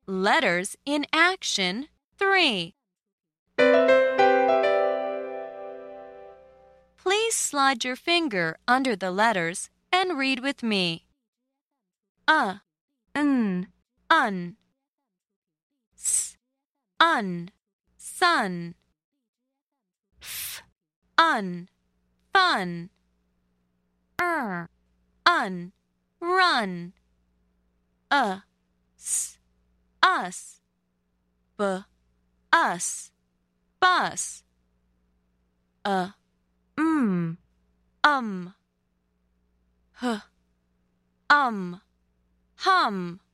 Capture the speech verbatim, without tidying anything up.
Letters in Action three. Please slide your finger under the letters and read with me. Uh, n, un. S, un, sun. F, un, fun. Er, un, run. Uh, s, us. B, us, bus. Uh, mm, um. H, um, hum.